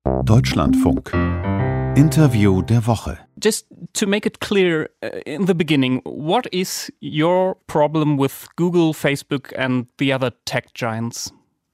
Deutschlandfunk. Interview der Woche. Just to make it clear in the beginning, what is your problem with Google, Facebook and the other tech giants?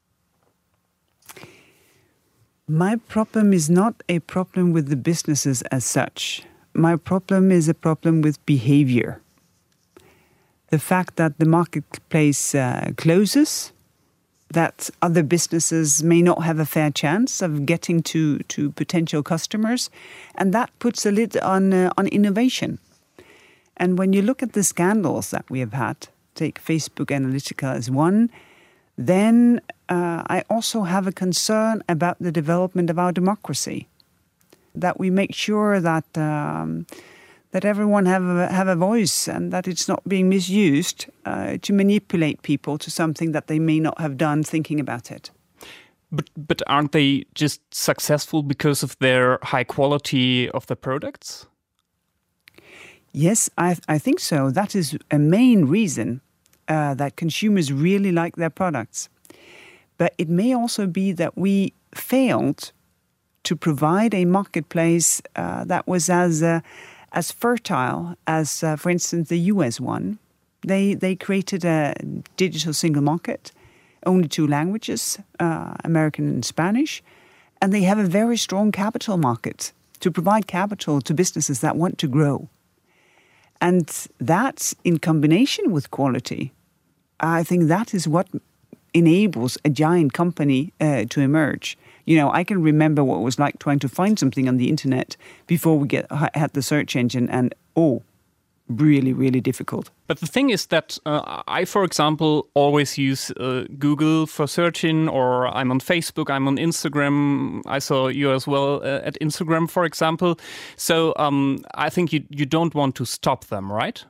My problem is not a problem with the businesses as such. My problem is a problem with behavior. The fact that the marketplace closes, that other businesses may not have a fair chance of getting to potential customers, and that puts a lid on innovation. And when you look at the scandals that we have had, take Facebook Analytica as one, then I also have a concern about the development of our democracy, that we make sure that that everyone have a voice and that it's not being misused to manipulate people to something that they may not have done thinking about it. But aren't they just successful because of their high quality of the products? Yes, I think so. That is a main reason that consumers really like their products. But it may also be that we failed to provide a marketplace that was as fertile as, for instance, the US one. They created a digital single market, only 2 languages, American and Spanish, and they have a very strong capital market to provide capital to businesses that want to grow. And that, in combination with quality, I think that is what enables a giant company to emerge. You know, I can remember what it was like trying to find something on the internet before we had the search engine, and really, really difficult. But the thing is that I, for example, always use Google for searching, or I'm on Facebook, I'm on Instagram. I saw you as well at Instagram, for example. So I think you don't want to stop them, right?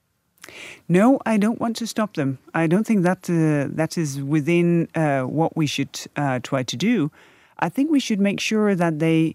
No, I don't want to stop them. I don't think that that is within what we should try to do. I think we should make sure that they,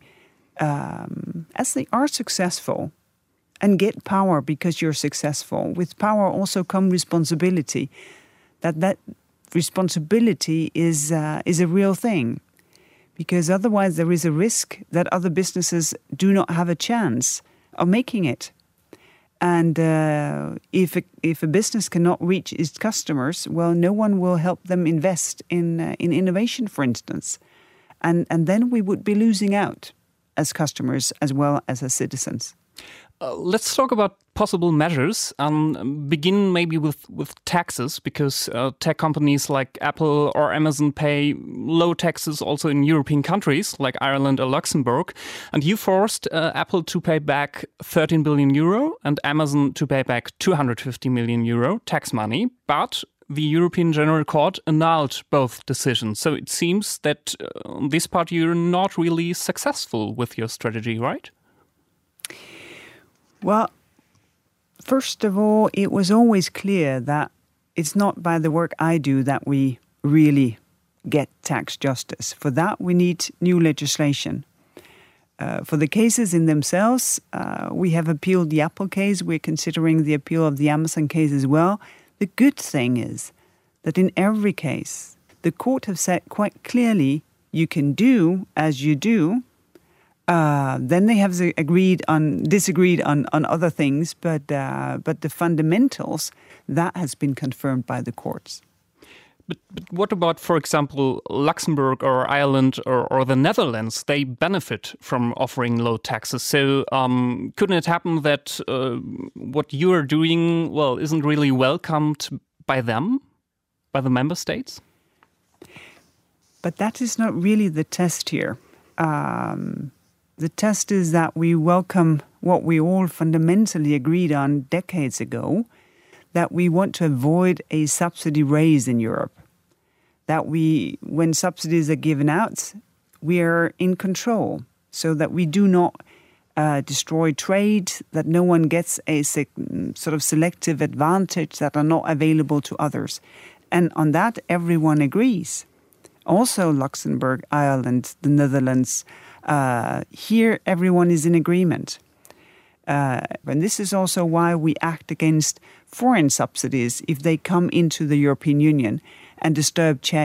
as they are successful, and get power because you're successful. With power also come responsibility. That responsibility is a real thing, because otherwise there is a risk that other businesses do not have a chance of making it. And if a business cannot reach its customers, well, no one will help them invest in innovation, for instance. And then we would be losing out as customers as well as citizens. Let's talk about possible measures. Begin maybe with taxes, because tech companies like Apple or Amazon pay low taxes also in European countries like Ireland or Luxembourg. And you forced Apple to pay back 13 billion euro and Amazon to pay back 250 million euro tax money. But the European General Court annulled both decisions. So it seems that on this part you're not really successful with your strategy, right? Well, first of all, it was always clear that it's not by the work I do that we really get tax justice. For that, we need new legislation. For the cases in themselves, we have appealed the Apple case. We're considering the appeal of the Amazon case as well. The good thing is that in every case, the court have said quite clearly, you can do as you do. Then they have disagreed on other things, but the fundamentals, that has been confirmed by the courts. But what about, for example, Luxembourg or Ireland or the Netherlands? They benefit from offering low taxes. So couldn't it happen that what you are doing, well, isn't really welcomed by them, by the member states? But that is not really the test here. The test is that we welcome what we all fundamentally agreed on decades ago, that we want to avoid a subsidy raise in Europe. That when subsidies are given out, we are in control, so that we do not destroy trade, that no one gets a sort of selective advantage that are not available to others. And on that, everyone agrees. Also Luxembourg, Ireland, the Netherlands, here everyone is in agreement. And this is also why we act against foreign subsidies if they come into the European Union and disturb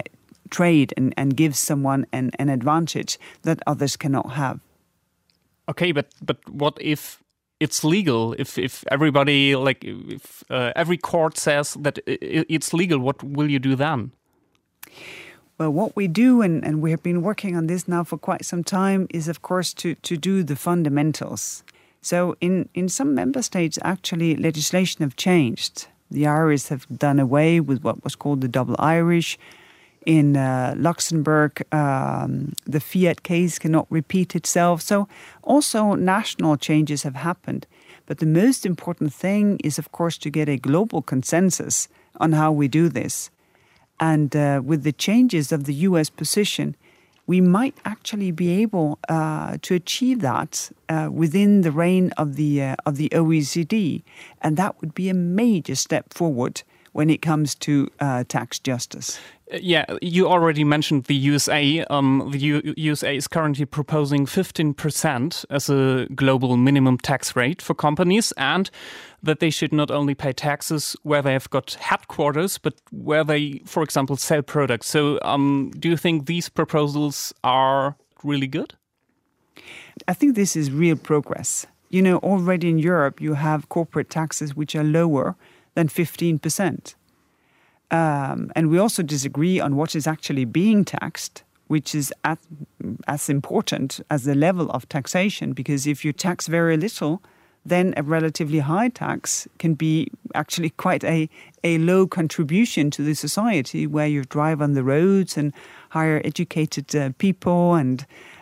trade and gives someone an advantage that others cannot have. Okay, but what if it's legal? If everybody, like, if every court says that it's legal, what will you do then? Well, what we do, and we have been working on this now for quite some time, is of course to do the fundamentals. So in some member states, actually, legislation have changed. The Irish have done away with what was called the double Irish. In Luxembourg, the Fiat case cannot repeat itself. So also national changes have happened. But the most important thing is, of course, to get a global consensus on how we do this. And with the changes of the US position, we might actually be able to achieve that within the reign of the OECD. And that would be a major step forward when it comes to tax justice. Yeah, you already mentioned the USA. The USA is currently proposing 15% as a global minimum tax rate for companies, and that they should not only pay taxes where they have got headquarters, but where they, for example, sell products. So do you think these proposals are really good? I think this is real progress. You know, already in Europe, you have corporate taxes which are lower than 15%. And we also disagree on what is actually being taxed, which is as important as the level of taxation, because if you tax very little, then a relatively high tax can be actually quite a low contribution to the society, where you drive on the roads and hire educated people and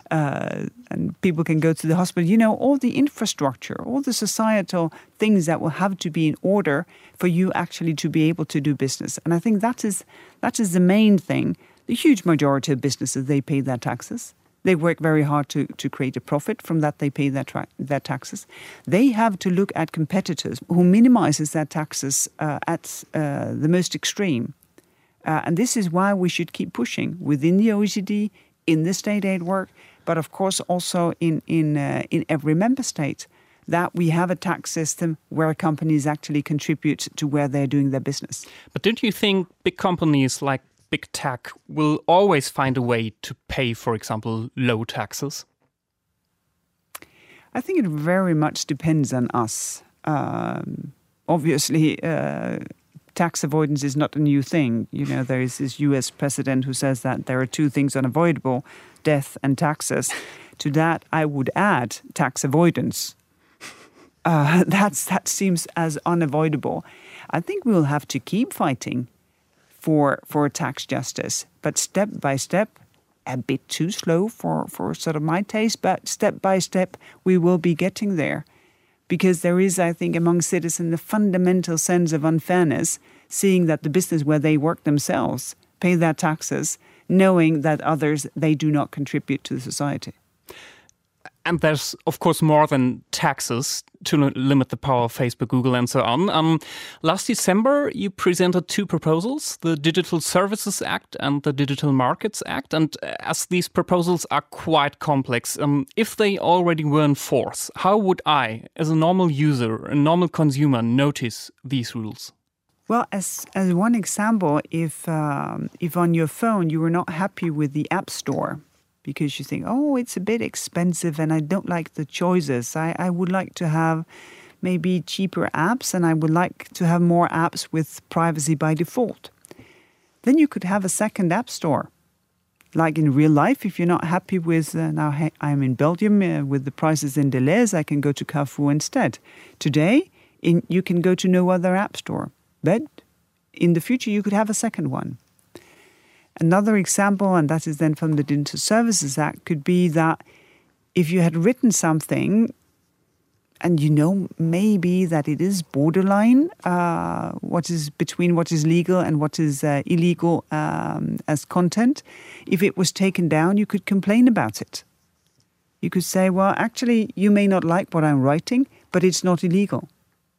people can go to the hospital. You know, all the infrastructure, all the societal things that will have to be in order for you actually to be able to do business. And I think that is the main thing. The huge majority of businesses, they pay their taxes. They work very hard to create a profit. From that, they pay their taxes. They have to look at competitors who minimizes their taxes at the most extreme. And this is why we should keep pushing within the OECD, in the state aid work, but of course also in every member state, that we have a tax system where companies actually contribute to where they're doing their business. But don't you think big companies like big tech will always find a way to pay, for example, low taxes? I think it very much depends on us. Obviously, tax avoidance is not a new thing. You know, there is this US president who says that there are two things unavoidable, death and taxes. To that, I would add tax avoidance. That seems as unavoidable. I think we'll have to keep fighting for tax justice, but step by step, a bit too slow for sort of my taste, but step by step, we will be getting there. Because there is, I think, among citizens, a fundamental sense of unfairness, seeing that the business where they work themselves pay their taxes, knowing that others, they do not contribute to the society. And there's, of course, more than taxes to limit the power of Facebook, Google, and so on. Last December, you presented two proposals, the Digital Services Act and the Digital Markets Act. And as these proposals are quite complex, if they already were in force, how would I, as a normal user, a normal consumer, notice these rules? Well, as one example, if on your phone you were not happy with the App Store, because you think, oh, it's a bit expensive and I don't like the choices. I would like to have maybe cheaper apps and I would like to have more apps with privacy by default. Then you could have a second app store. Like in real life, if you're not happy with, now I'm in Belgium with the prices in Deleuze, I can go to Carrefour instead. Today, you can go to no other app store. But in the future, you could have a second one. Another example, and that is then from the Digital Services Act, could be that if you had written something and you know maybe that it is borderline, what is between what is legal and what is illegal as content, if it was taken down, you could complain about it. You could say, well, actually, you may not like what I'm writing, but it's not illegal.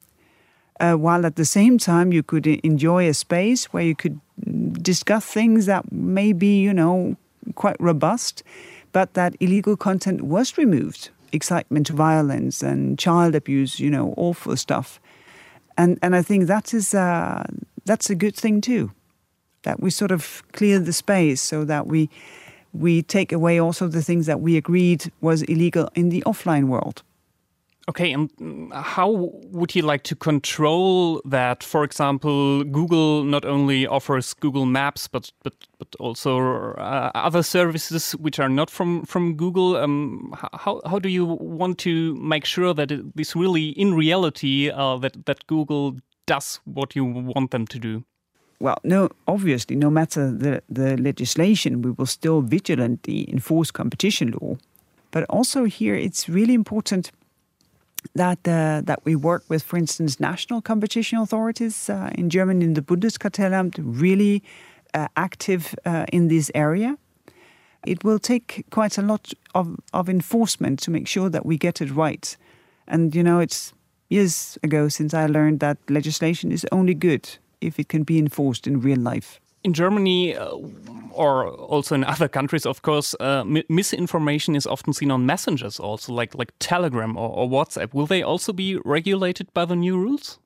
While at the same time, you could enjoy a space where you could discuss things that may be, you know, quite robust, but that illegal content was removed. Excitement to violence and child abuse, you know, awful stuff. And I think that's a good thing too. that we sort of clear the space so that we take away also the things that we agreed was illegal in the offline world. Okay, and how would you like to control that? For example, Google not only offers Google Maps, but also other services which are not from Google. How do you want to make sure that it is really in reality that Google does what you want them to do? Well, no, obviously, no matter the legislation, we will still vigilantly enforce competition law. But also here, it's really important that we work with, for instance, national competition authorities in Germany, in the Bundeskartellamt, really active in this area. It will take quite a lot of enforcement to make sure that we get it right. And, it's years ago since I learned that legislation is only good if it can be enforced in real life. In Germany, or also in other countries, of course, misinformation is often seen on messengers also, like Telegram or WhatsApp. Will they also be regulated by the new rules?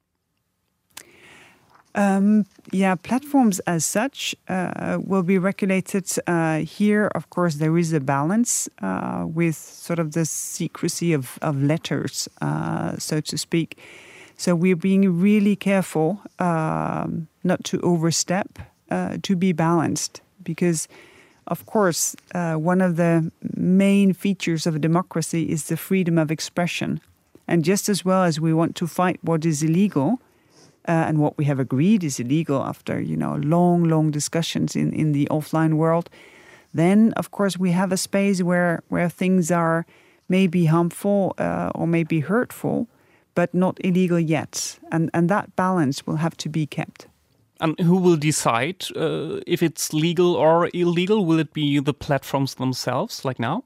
Platforms as such will be regulated. Here, of course, there is a balance with sort of the secrecy of letters, so to speak. So we're being really careful not to overstep, to be balanced, because, of course, one of the main features of a democracy is the freedom of expression. And just as well as we want to fight what is illegal, and what we have agreed is illegal after, long discussions in the offline world, then, of course, we have a space where things are maybe harmful or maybe hurtful, but not illegal yet. And that balance will have to be kept. And who will decide if it's legal or illegal? Will it be the platforms themselves, like now?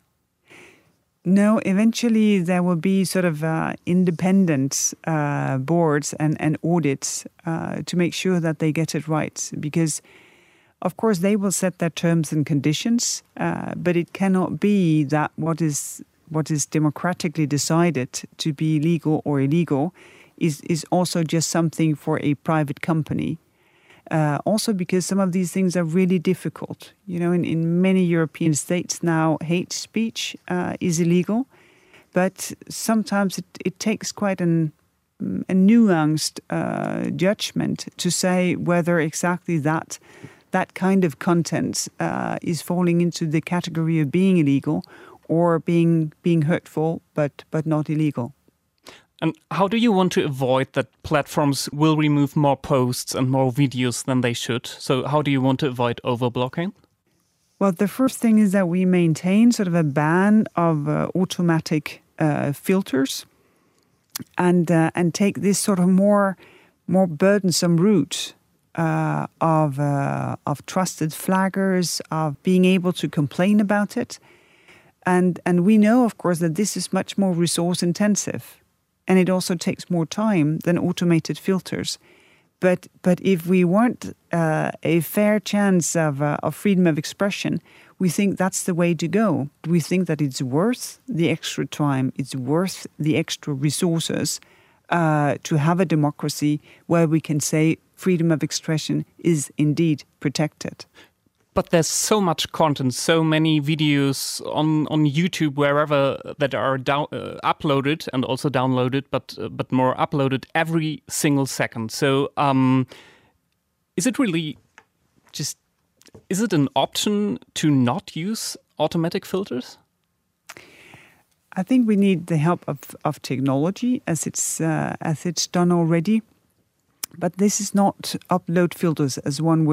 No, eventually there will be sort of independent boards and audits to make sure that they get it right. Because, of course, they will set their terms and conditions, but it cannot be that what is democratically decided to be legal or illegal is also just something for a private company. Also because some of these things are really difficult. In many European states now, hate speech is illegal, but sometimes it takes quite a nuanced judgment to say whether exactly that kind of content is falling into the category of being illegal or being hurtful, but not illegal. And how do you want to avoid that platforms will remove more posts and more videos than they should? So how do you want to avoid overblocking? Well, the first thing is that we maintain sort of a ban of automatic filters and take this sort of more burdensome route of trusted flaggers, of being able to complain about it. And we know, of course, that this is much more resource intensive. And it also takes more time than automated filters. But if we want a fair chance of freedom of expression, we think that's the way to go. We think that it's worth the extra time, it's worth the extra resources to have a democracy where we can say freedom of expression is indeed protected. But there's so much content, so many videos on YouTube, wherever, that are uploaded and also downloaded, but more uploaded every single second. So is it really is it an option to not use automatic filters? I think we need the help of technology as it's done already. But this is not upload filters as one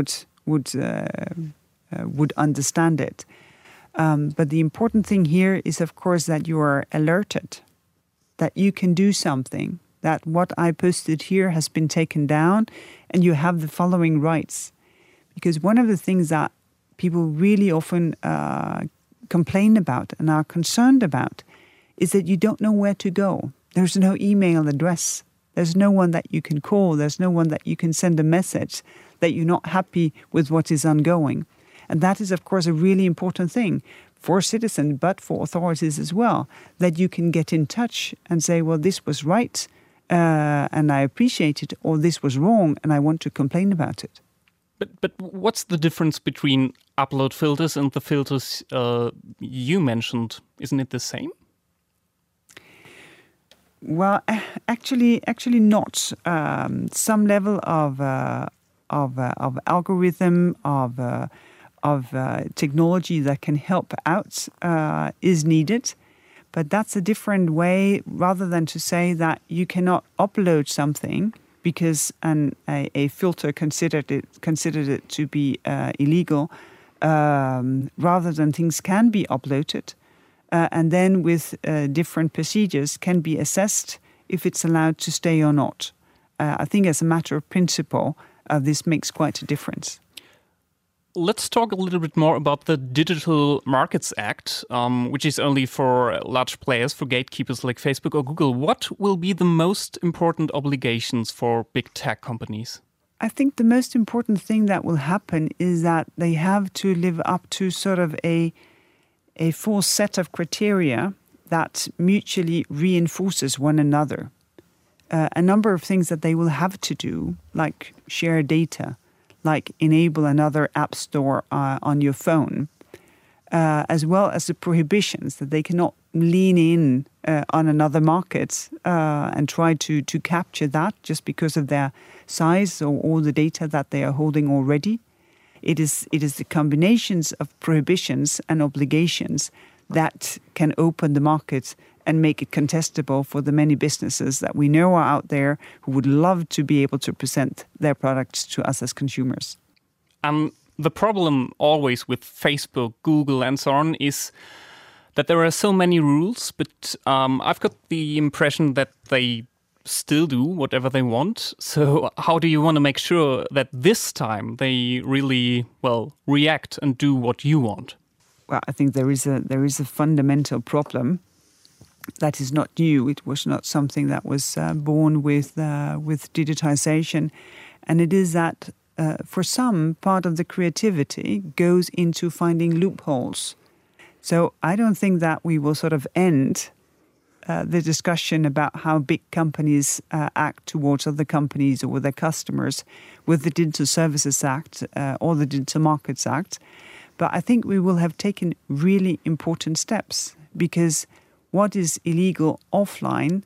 would understand it. But the important thing here is, of course, that you are alerted, that you can do something, that what I posted here has been taken down and you have the following rights. Because one of the things that people really often complain about and are concerned about is that you don't know where to go. There's no email address. There's no one that you can call. There's no one that you can send a message that you're not happy with what is ongoing. And that is, of course, a really important thing for citizens, but for authorities as well, that you can get in touch and say, well, this was right and I appreciate it, or this was wrong and I want to complain about it. But what's the difference between upload filters and the filters you mentioned? Isn't it the same? Well, actually not. Some level of algorithm of technology that can help out is needed, but that's a different way. Rather than to say that you cannot upload something because a filter considered it to be illegal, rather than things can be uploaded. And then with different procedures can be assessed if it's allowed to stay or not. I think as a matter of principle, this makes quite a difference. Let's talk a little bit more about the Digital Markets Act, which is only for large players, for gatekeepers like Facebook or Google. What will be the most important obligations for big tech companies? I think the most important thing that will happen is that they have to live up to sort of a full set of criteria that mutually reinforces one another. A number of things that they will have to do, like share data, like enable another app store on your phone, as well as the prohibitions that they cannot lean in on another market and try to capture that just because of their size or all the data that they are holding already. It is the combinations of prohibitions and obligations that can open the market and make it contestable for the many businesses that we know are out there who would love to be able to present their products to us as consumers. The problem always with Facebook, Google, and so on is that there are so many rules, but I've got the impression that they still do whatever they want. So how do you want to make sure that this time they really, react and do what you want? Well, I think there is a fundamental problem that is not new. It was not something that was born with digitization. And it is that for some, part of the creativity goes into finding loopholes. So I don't think that we will sort of end the discussion about how big companies act towards other companies or their customers with the Digital Services Act or the Digital Markets Act. But I think we will have taken really important steps, because what is illegal offline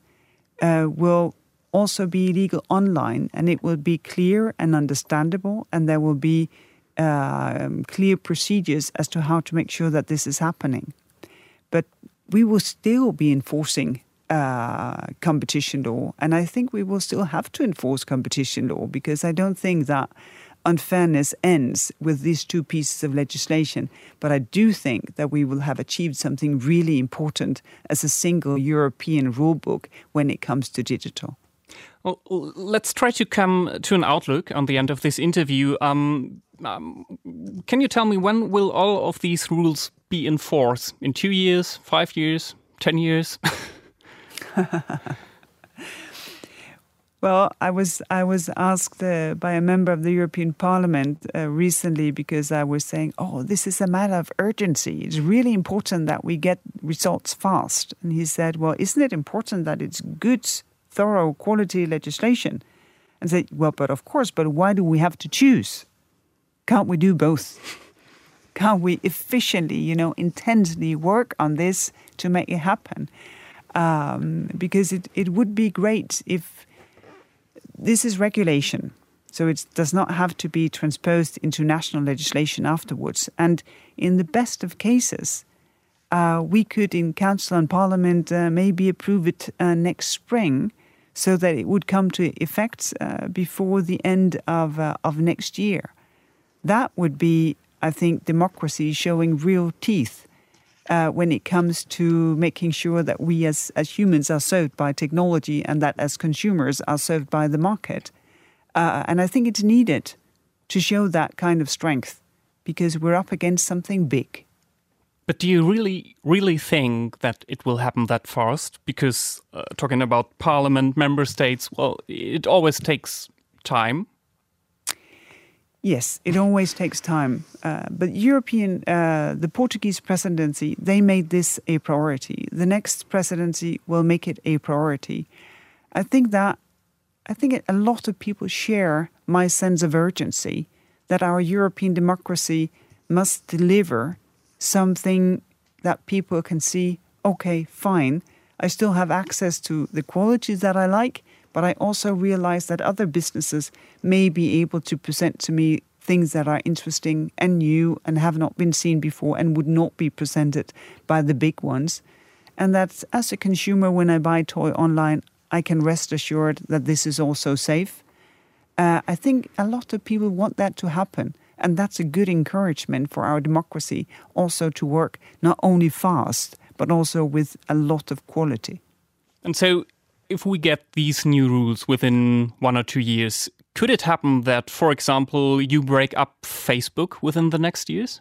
will also be illegal online, and it will be clear and understandable, and there will be clear procedures as to how to make sure that this is happening. But we will still be enforcing competition law, and I think we will still have to enforce competition law, because I don't think that unfairness ends with these two pieces of legislation. But I do think that we will have achieved something really important as a single European rulebook when it comes to digital. Well, let's try to come to an outlook on the end of this interview. Can you tell me, when will all of these rules be in force? In 2 years, 5 years, 10 years? Well, I was asked by a member of the European Parliament recently, because I was saying, this is a matter of urgency. It's really important that we get results fast. And he said, well, isn't it important that it's good, thorough, quality legislation? And I said, but why do we have to choose? Can't we do both? Can't we efficiently, intensely work on this to make it happen? Because it would be great if this is regulation, so it does not have to be transposed into national legislation afterwards. And in the best of cases, we could, in Council and Parliament, maybe approve it next spring, so that it would come to effect before the end of next year. That would be, I think, democracy showing real teeth when it comes to making sure that we as humans are served by technology, and that as consumers are served by the market. And I think it's needed to show that kind of strength, because we're up against something big. But do you really think that it will happen that fast? Because talking about Parliament, member states, it always takes time. Yes, it always takes time. But the Portuguese presidency, they made this a priority. The next presidency will make it a priority. I think a lot of people share my sense of urgency, that our European democracy must deliver something that people can see, okay, fine, I still have access to the qualities that I like, but I also realize that other businesses may be able to present to me things that are interesting and new and have not been seen before and would not be presented by the big ones. And that as a consumer, when I buy a toy online, I can rest assured that this is also safe. I think a lot of people want that to happen. And that's a good encouragement for our democracy also to work not only fast, but also with a lot of quality. And so if we get these new rules within 1 or 2 years, could it happen that, for example, you break up Facebook within the next years?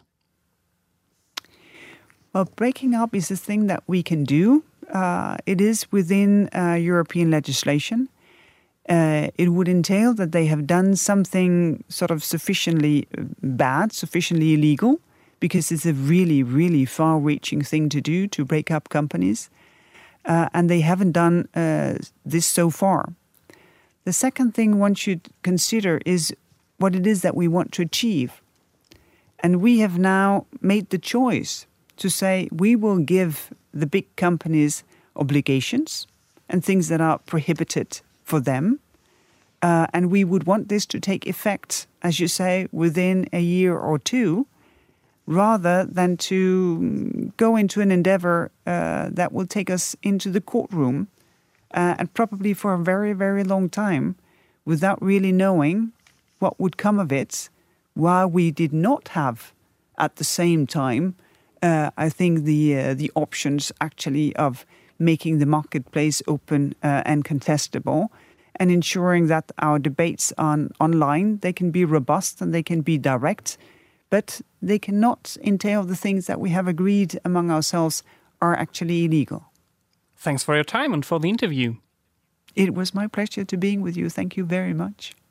Well, breaking up is a thing that we can do. It is within European legislation. It would entail that they have done something sort of sufficiently bad, sufficiently illegal, because it's a really, really far-reaching thing to do, to break up companies. And they haven't done this so far. The second thing one should consider is what it is that we want to achieve. And we have now made the choice to say we will give the big companies obligations and things that are prohibited for them. And we would want this to take effect, as you say, within a year or two, rather than to go into an endeavor that will take us into the courtroom and probably for a very, very long time without really knowing what would come of it, while we did not have at the same time, I think, the options actually of making the marketplace open and contestable, and ensuring that our debates online, they can be robust and they can be direct, but they cannot entail the things that we have agreed among ourselves are actually illegal. Thanks for your time and for the interview. It was my pleasure to being with you. Thank you very much.